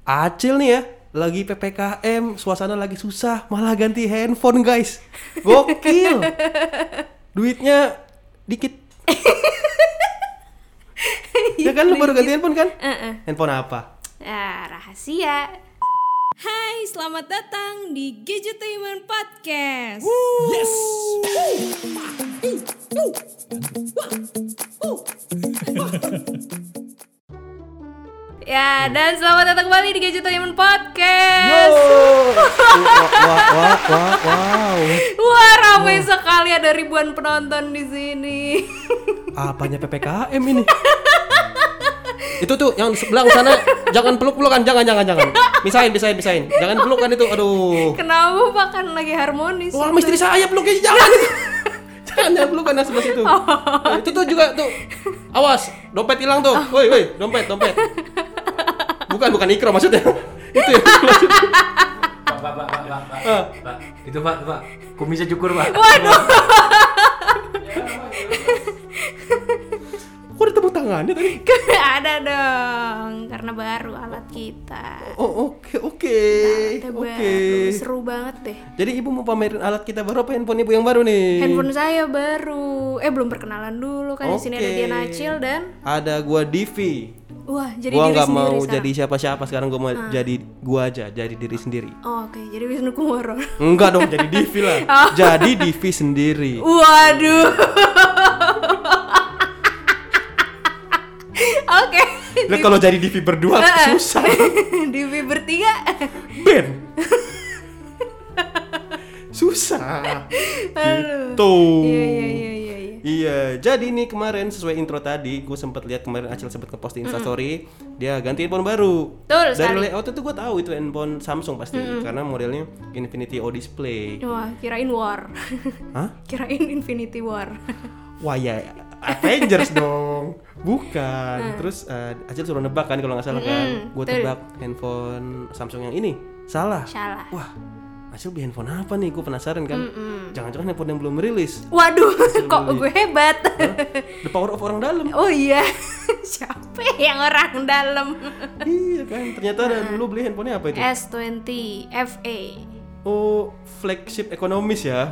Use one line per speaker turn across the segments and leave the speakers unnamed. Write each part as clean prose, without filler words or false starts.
Acil nih ya, lagi PPKM, suasana lagi susah, malah ganti handphone guys. Gokil. Duitnya dikit. Ya kan lu baru ganti handphone kan? Handphone apa?
Rahasia. Hai, selamat datang di Gadgetainment Podcast.
Yes.
Ya, dan selamat datang kembali di Gadgetainment Podcast.
Wow.
Wah, ramai sekali, ada ribuan penonton di sini.
Apanya PPKM ini? Itu tuh yang sebelah sana jangan peluk-pelukan, jangan. Pisahin. Jangan pelukan itu. Aduh.
Kenapa Pak, kan lagi harmonis?
Wah, istri saya peluknya jangan. Jangan pelukan sebelah situ. Nah, itu tuh juga tuh. Awas, dompet hilang tuh. Woi, dompet. Bukan ikro maksudnya. Itu ya.
Pak. Itu Pak. Kumisnya cukur, Pak.
Waduh.
Kok ada tepuk tangannya tadi?
Ada dong, karena baru alat kita.
Oh, oke.
Baru, seru banget deh.
Jadi ibu mau pamerin alat kita baru apa handphone ibu yang baru nih?
Handphone saya baru. Belum perkenalan dulu kan. Di sini ada Dian Acil dan
ada gua Divi.
Wah, jadi
gua
diri
nggak
sendiri
mau
sekarang.
jadi siapa-siapa sekarang, gua mau jadi gua aja, jadi diri sendiri.
Oh, oke. Jadi Wisnu Kumoro.
Enggak dong, jadi Divi lah. Jadi Divi sendiri.
Waduh. Oke.
Lah kalau jadi Divi berdua susah.
Divi bertiga.
Ben. Susah. Gitu. Iya, jadi nih kemarin sesuai intro tadi, gue sempat lihat kemarin Acil sempat ngepost di Instastory, dia ganti handphone baru.
Betul
Dari
sekali.
layout itu gue tahu itu handphone Samsung pasti, karena modelnya Infinity O Display.
Wah, kirain War.
Hah?
Kirain Infinity War.
Wah ya, Avengers dong. Bukan. Terus Acil suruh nebak kan kalau nggak salah kan. Gue
betul.
tebak handphone Samsung yang ini. Salah. Wah, Acil beli handphone apa nih? Gue penasaran kan. Jangan-jangan handphone yang belum merilis.
Waduh, kok gue hebat.
The power of orang dalam.
Oh iya. Siapa yang orang dalam?
Iya kan, ternyata lu beli handphonenya apa itu?
S20 FE.
Oh, flagship ekonomis ya.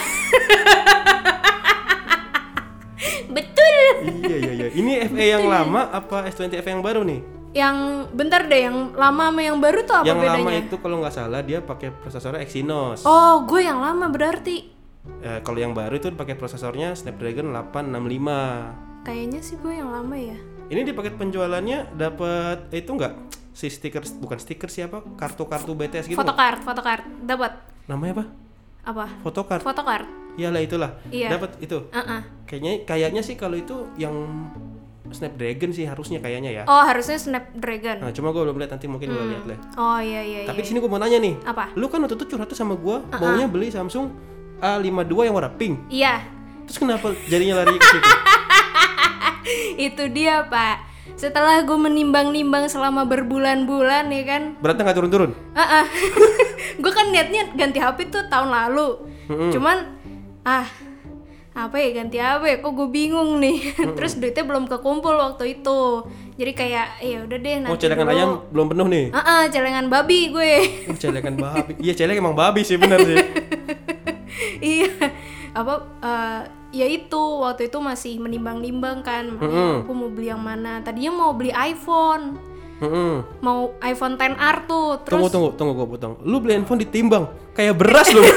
Betul.
Iya. Ini FE yang lama apa S20 FE yang baru nih?
Yang bentar deh, yang lama sama yang baru tuh apa
Yang
bedanya?
lama itu kalau nggak salah dia pakai prosesornya Exynos.
Oh, gue yang lama berarti.
Kalau yang baru itu pakai prosesornya Snapdragon 865.
Kayaknya sih gue yang lama ya.
Ini di paket penjualannya dapat itu nggak? Si stiker, bukan stiker siapa? Kartu BTS gitu.
Photocard dapat.
Namanya apa?
Apa?
Photocard.
Photocard.
Iyalah itulah.
Iya.
Dapat itu. Kayaknya sih kalau itu yang Snapdragon sih harusnya kayaknya ya.
Oh, harusnya Snapdragon.
Nah, cuma gue belum lihat, nanti mungkin gue lihat lah.
Oh iya.
Tapi di sini gue mau nanya nih.
Apa?
Lu kan waktu itu curhat tuh sama gue, maunya beli Samsung A52 yang warna pink.
Iya.
Terus kenapa jadinya lari ke situ?
Itu dia, Pak. Setelah gue menimbang-nimbang selama berbulan-bulan ya kan.
Beratnya nggak turun-turun?
Gue kan niatnya ganti HP tuh tahun lalu. Cuman apa ya, ganti apa ya, kok gue bingung nih. Terus duitnya belum kekumpul waktu itu. Jadi kayak ya udah deh nanti.
Oh, celengan ayam belum penuh nih.
Celengan babi gue.
Celengan babi. Iya, celeng emang babi sih, benar sih.
Iya. Ya itu waktu itu masih menimbang-nimbang kan. Aku mau beli yang mana. Tadinya mau beli iPhone. Mau iPhone XR tuh. Terus
Tunggu gue potong. Lu beli handphone ditimbang kayak beras lu.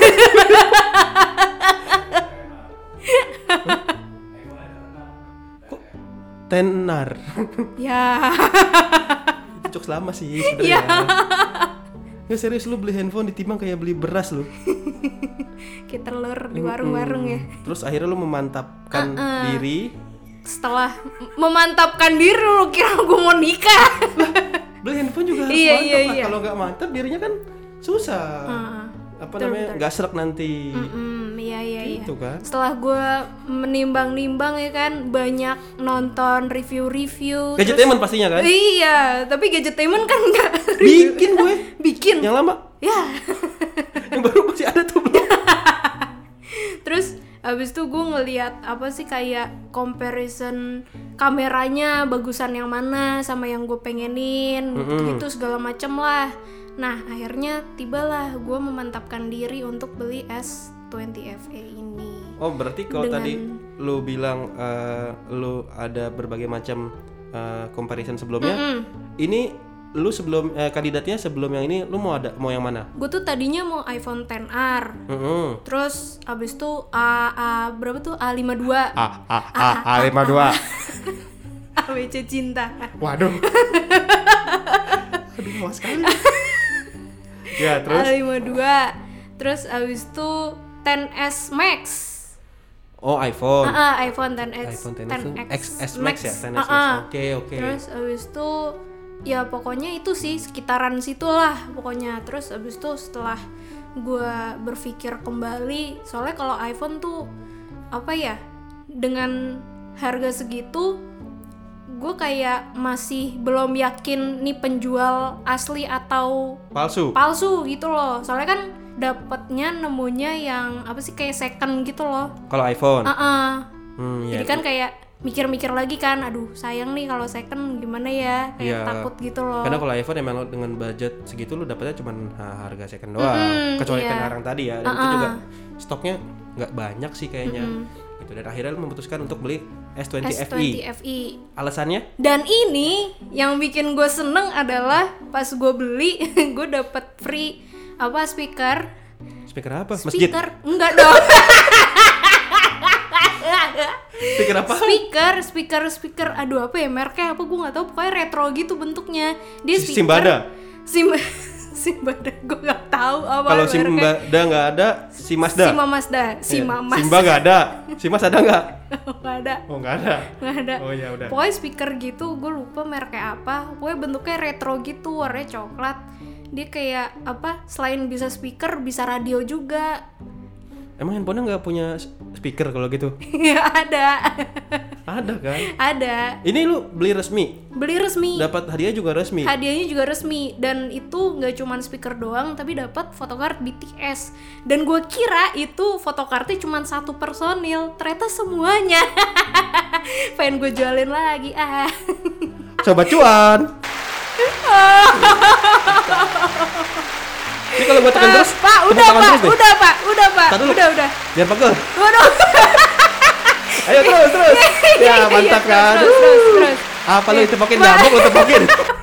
Kok tenar?
Ya.
Itu jokes lama sih sebenarnya. Ya serius, lu beli handphone ditimbang kayak beli beras lu.
Kayak telur di warung-warung ya.
Terus akhirnya lu memantapkan diri.
Setelah memantapkan diri, lu kira gue mau nikah?
Beli handphone juga harus
Iya,
mantap lah.
iya.
Kalau nggak mantap dirinya kan susah. Namanya nggak serak nanti.
Iya.
Gitu kan.
Setelah gue menimbang-nimbang ya kan, banyak nonton review-review.
Gadgetainment pastinya kan?
Iya, tapi Gadgetainment kan nggak
Bikin gue.
bikin.
Yang lama.
Ya.
Yang baru masih ada tuh belum.
Terus abis itu gue ngeliat apa sih, kayak comparison kameranya bagusan yang mana sama yang gue pengenin, gitu segala macem lah. Nah akhirnya tibalah gue memantapkan diri untuk beli S20 FE ini.
Oh berarti kalau tadi lu bilang lu ada berbagai macam comparison sebelumnya, ini lu sebelum kandidatnya sebelum yang ini lu mau yang mana?
Gue tuh tadinya mau iPhone XR, terus abis itu berapa tuh A52,
A52,
ABC cinta.
Waduh, aduh mawas sekali. Ya terus
A52, terus abis itu 10s Max.
Oh iPhone.
iPhone 10x.
iPhone 10X Max ya, 10X Max. Oke.
Terus abis itu ya pokoknya itu sih sekitaran situlah pokoknya. Terus abis itu setelah gue berpikir kembali, soalnya kalau iPhone tuh apa ya, dengan harga segitu gue kayak masih belum yakin nih penjual asli atau palsu gitu loh. Soalnya kan dapatnya nemunya yang apa sih kayak second gitu loh
kalau iPhone.
Jadi kan kayak mikir-mikir lagi kan, aduh sayang nih kalau second gimana ya, kayak takut gitu loh.
Karena kalau iPhone emang dengan budget segitu lu dapetnya cuma harga second doang, kecuali yang tadi ya, dan itu juga stoknya nggak banyak sih kayaknya. Gitu. Dan akhirnya lu memutuskan untuk beli S20 FE. Alasannya?
Dan ini yang bikin gue seneng adalah pas gue beli gue dapet free speaker.
Speaker apa? Masjid?
Enggak dong.
Speaker apa?
Speaker. Aduh apa ya mereknya apa gue nggak tahu. Pokoknya retro gitu bentuknya. Dia
speaker.
Simbada. Gue nggak tahu apa.
Kalau Simbada nggak ada, Mazda.
Simba
nggak ada. Simas ada nggak?
Nggak ada.
Oh nggak ada. Oh ya udah.
Pokoknya speaker gitu. Gue lupa mereknya apa. Pokoknya bentuknya retro gitu, warnanya coklat. Dia kayak apa? Selain bisa speaker, bisa radio juga.
Emang handphonenya nggak punya speaker kalau gitu?
Ya ada.
Ada kan?
Ada.
Ini lu beli resmi?
Beli resmi.
Dapat hadiah juga resmi?
Hadiahnya juga resmi. Dan itu nggak cuma speaker doang, tapi dapat photocard BTS. Dan gue kira itu photocardnya cuma 1 personil. Ternyata semuanya. Pengen gue jualin lagi
Coba cuan. Ini kalau gue tekan terus,
Pak, udah Pak. Udah.
Biar pegel.
Waduh.
Ayo terus. Ya mantap kan.
Terus.
Apa lu tepokin nyamuk lu tepokin?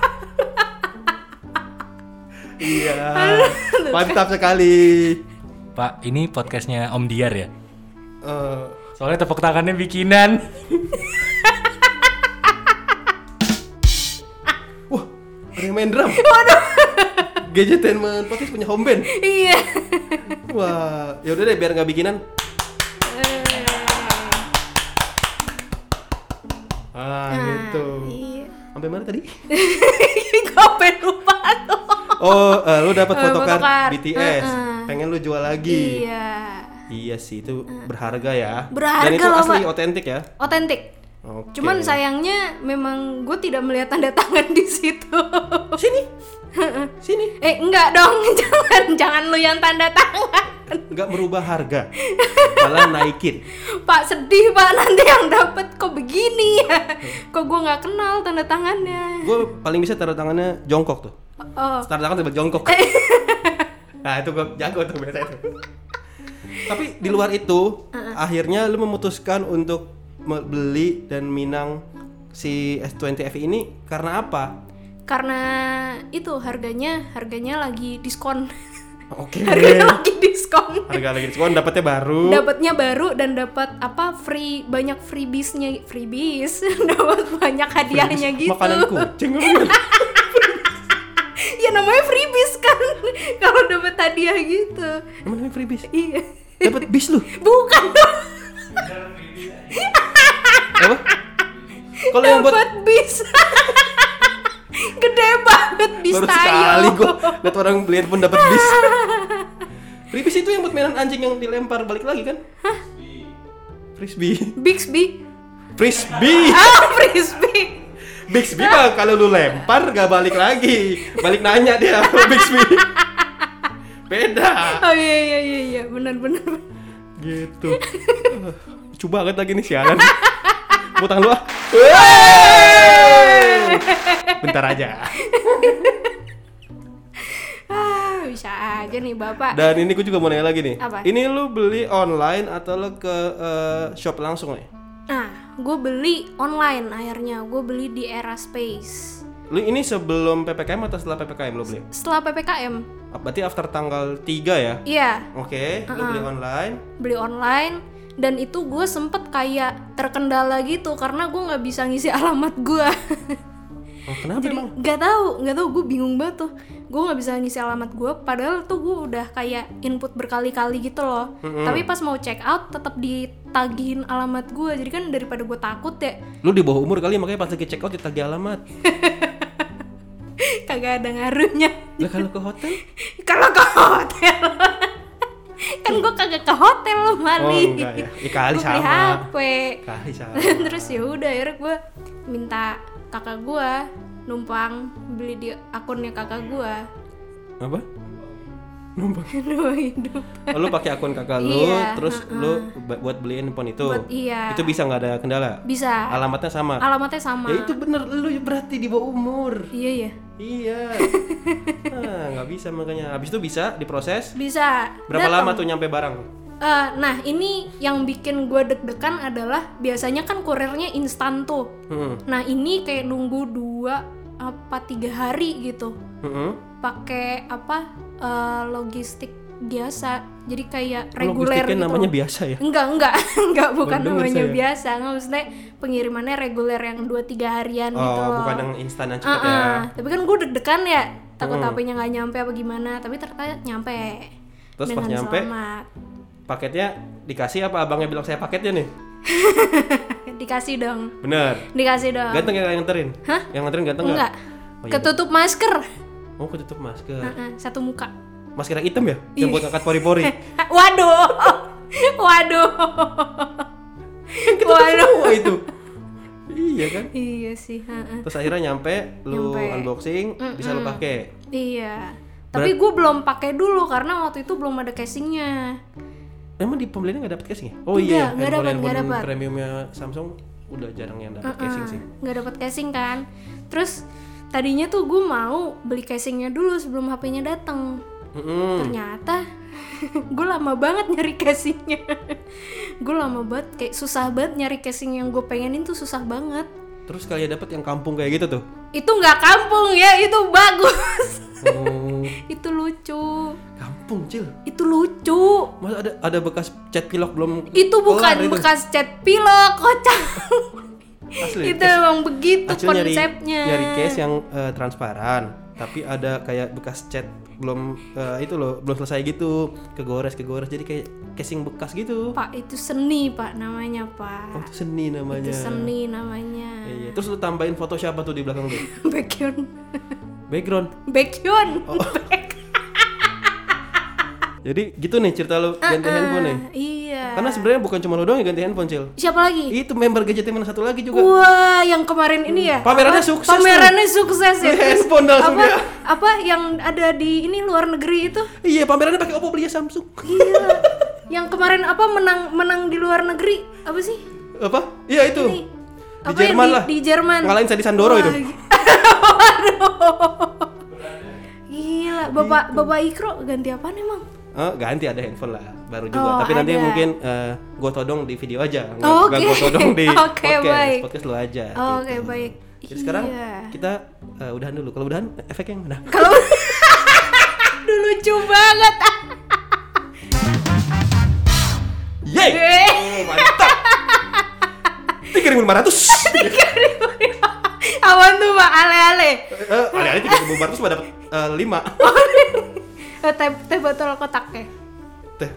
Iya. Mantap sekali.
Pak, ini podcastnya Om Diar ya? Soalnya tepuk tangannya bikinan.
Wah, ada yang main drum.
Waduh.
Gadgetainment podcast punya home band.
Iya.
Wah, ya udah deh biar nggak bikinan. Gitu.
Iya.
Sampai mana tadi?
Gue lupa.
Lu dapat photocard BTS. Pengen lu jual lagi. Iya sih, itu berharga ya. Dan itu asli otentik ya?
Otentik.
Okay.
Cuman sayangnya memang gue tidak melihat tanda tangan di situ. Sini. Enggak dong, jangan lu yang tanda tangan.
Enggak merubah harga, malah naikin.
Pak sedih Pak, nanti yang dapat kok begini ya. Kok gue nggak kenal tanda tangannya.
Gue paling bisa tanda tangannya jongkok tuh. Tanda tangan tiba jongkok. Nah itu gue jago tuh biasa itu. Tapi di luar itu, akhirnya lu memutuskan untuk beli dan minang si S20 FE ini karena apa?
Karena itu harganya lagi diskon.
Oke.
Harganya lagi diskon.
Dapatnya baru
dan dapat banyak freebies. Dapat banyak hadiahnya gitu.
Makanan kucing apa?
Ya namanya freebies kan. Kalau dapat hadiah gitu.
Namanya freebies.
Iya.
Dapat bis lu?
Bukan dong.
Apa? Kalau yang buat
bis. Gede banget bis
baru
tayo.
Sekali gue liat orang beli handphone dapat bis. Freebies itu yang buat mainan anjing yang dilempar balik lagi kan? Frisbee.
Bixby.
Frisbee.
Frisbee.
Bixby mah kalau lu lempar gak balik lagi. Balik nanya dia Bixby. Beda.
Oh iya, benar.
Gitu. Lucu banget lagi nih sialan. Tepuk tangan lu ah. Bentar aja.
Bisa aja nih Bapak.
Dan ini gue juga mau nanya lagi nih.
Apa?
Ini lu beli online atau lu ke shop langsung nih?
Nah, gue beli online akhirnya. Gue beli di Era Space.
Lu ini sebelum PPKM atau setelah PPKM lu beli?
Setelah PPKM.
Berarti after tanggal 3 ya?
Iya.
Oke, lu beli online.
Beli online. Dan itu gue sempet kayak terkendala gitu karena gue nggak bisa ngisi alamat gue.
Oh, kenapa
Jadi
emang?
nggak tahu gue bingung banget tuh. Gue nggak bisa ngisi alamat gue, padahal tuh gue udah kayak input berkali-kali gitu loh. Tapi pas mau check out tetap ditagihin alamat gue. Jadi kan daripada gue takut ya.
Lu di bawah umur kali makanya pas lagi check out ditagih alamat.
Kagak ada ngaruhnya.
Lah kalau ke hotel?
Kalau ke hotel. Kan gue kagak ke hotel loh, Mali.
Oh enggak ya. Kali
Gua beli
sama.
HP.
Kali sama.
Terus ya udah akhirnya gue minta kakak gue numpang beli di akunnya kakak gue.
Apa? Numpang.
Hidup.
Oh, lu pakai akun kakak lu,
Iya,
terus lu buat beliin handphone itu.
Iya.
Itu bisa nggak ada kendala?
Bisa.
Alamatnya sama.
Alamatnya sama.
Ya itu bener, lu berarti di bawah umur.
Iya ya.
Iya. Nggak bisa makanya. Habis itu bisa diproses.
Bisa.
Berapa
Dateng.
lama tuh nyampe barang?
Nah ini yang bikin gue deg-degan adalah biasanya kan kurirnya instan tuh. Nah ini kayak nunggu 2 apa 3 hari gitu. Pakai apa logistik biasa. Jadi kayak reguler
Logistiknya
gitu.
namanya biasa ya?
Enggak bukan
Baru denger
namanya
saya.
biasa. Nggak, maksudnya pengirimannya reguler yang 2-3 harian gitu
Oh,
loh.
bukan yang instan yang cepet ya.
Tapi kan gue deg-degan ya. Takut HP-nya nggak nyampe apa gimana. Tapi ternyata nyampe.
Terus
dengan
pas nyampe,
selamat.
Paketnya dikasih apa abangnya bilang saya paketnya nih?
Dikasih dong.
Bener.
Dikasih dong.
Ganteng yang nganterin?
Hah?
Yang nganterin ganteng
Enggak.
Oh, iya.
Ketutup masker.
Oh, ketutup masker.
Satu muka.
Masker yang hitam ya? Yang buat ngangkat pori-pori.
Waduh. Waduh.
Semua itu. Iya kan?
Iya sih.
Terus akhirnya nyampe, lu
Nyampe.
unboxing, bisa lu pakai.
Iya. Tapi gue belum pakai dulu karena waktu itu belum ada casingnya.
Emang di pembeliannya nggak dapet casing ya? Oh
Enggak,
iya,
nggak
handphone
dapet.
premiumnya Samsung udah jarang yang dapet casing sih.
Nggak dapat casing kan. Terus tadinya tuh gue mau beli casingnya dulu sebelum HP-nya datang. Ternyata gue lama banget nyari casingnya. Gue lama banget, kayak susah banget nyari casing yang gue pengenin tuh susah banget.
Terus kalian dapet yang kampung kayak gitu tuh?
Itu nggak kampung ya, itu bagus.
Oh,
Itu lucu.
kampung Cil.
Itu lucu.
Masa ada bekas cat pilok belum?
Itu bukan
kelar itu?
bekas cat pilok, kocak.
Asli.
Itu emang begitu
Acil
konsepnya.
nyari case yang transparan, tapi ada kayak bekas cat belum itu loh, belum selesai gitu, kegores jadi kayak casing bekas gitu.
Pak, itu seni Pak namanya Pak.
Oh, itu seni namanya.
Itu seni namanya.
Iya. Terus lu tambahin foto siapa tuh di belakang tuh?
Baekhyun.
Background.
Baekhyun.
Jadi gitu nih cerita lu ganti handphone nih.
Iya.
Karena sebenarnya bukan cuma lu doang yang ganti handphone, Cil.
Siapa lagi?
Itu member Gadgeteman satu lagi juga.
Wah, yang kemarin ini ya.
Pamerannya
Apa?
sukses
Pamerannya sukses ya.
Beli handphone langsung
apa,
dia.
apa yang ada di ini luar negeri itu?
Iya, pamerannya pakai Oppo, belinya Samsung.
Iya. Yang kemarin apa menang di luar negeri? Apa sih?
Apa? Iya itu.
Ini.
Di
Apa
Jerman
yang
lah.
Di Jerman.
Ngalahin Sandi Sandoro itu.
Gila, Bapak Ikro ganti apaan emang?
Ganti ada handphone lah baru juga.
Oh,
Tapi nanti
ada.
mungkin gue todong di video aja.
Oh,
Nggak
oke.
gue todong di
Oke,
podcast.
baik.
Podcast lu aja.
Oh,
gitu.
Oke, baik.
Jadi sekarang
Iya.
kita udahan dulu. Kalau udahan efek yang mana?
Kalau Aduh, lucu banget.
Yeay! Oh, mantap. 3.500.
Awan tuh Pak, ale-ale.
Ale-ale 3.500 mah dapat 5.
Teh botol kotaknya.
Teh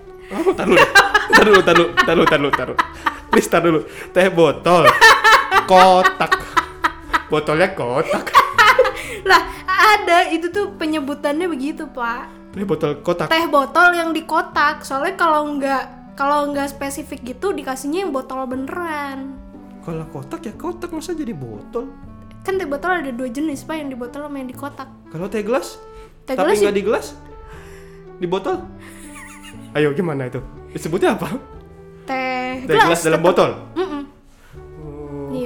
taruh. Please tar dulu. Teh botol kotak. Botolnya kotak.
Lah, ada itu tuh penyebutannya begitu, Pak.
Teh botol kotak.
Teh botol yang di kotak. Soalnya kalau nggak spesifik gitu dikasihnya yang botol beneran.
Kalau kotak ya kotak, masa jadi botol?
Kan teh botol ada 2 jenis, Pak, yang di botol sama yang di kotak.
Kalau teh gelas?
Teh
Tapi
gelas
nggak di gelas? Di botol? Ayo gimana itu? Disebutnya apa?
Teh
Teh gelas dalam
tetep.
botol?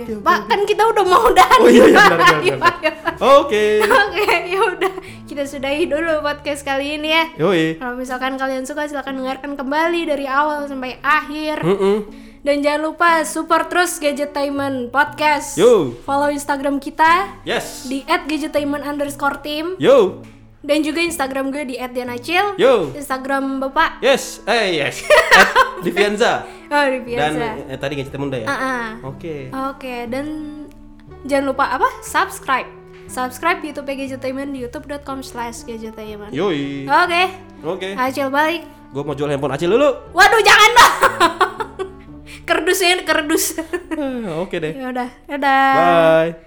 Pak, kan kita udah mau udahan.
Oh iya, benar. Oke,
ya udah. Kita sudahi dulu podcast kali ini ya.
Yoi.
Kalau misalkan kalian suka, silakan dengarkan kembali dari awal sampai akhir. Dan jangan lupa support terus Gadgetainment Podcast.
Yo.
Follow Instagram kita
Yes.
di @gadgetainment_team.
Yo.
Dan juga Instagram gue di @dianacil.
Yo.
Instagram Bapak.
Yes. Yes. Divianza.
Oh, Divianza.
Dan tadi Gadgetainment udah ya? Oke.
Oke, dan jangan lupa apa? Subscribe YouTube Gadgetainment di youtube.com/gadgetainment.
Yoi.
Oke. Acil balik.
Gue mau jual handphone Acil dulu.
Waduh, jangan dong. Kerdus.
Oke deh.
Ya udah. Dadah.
Bye.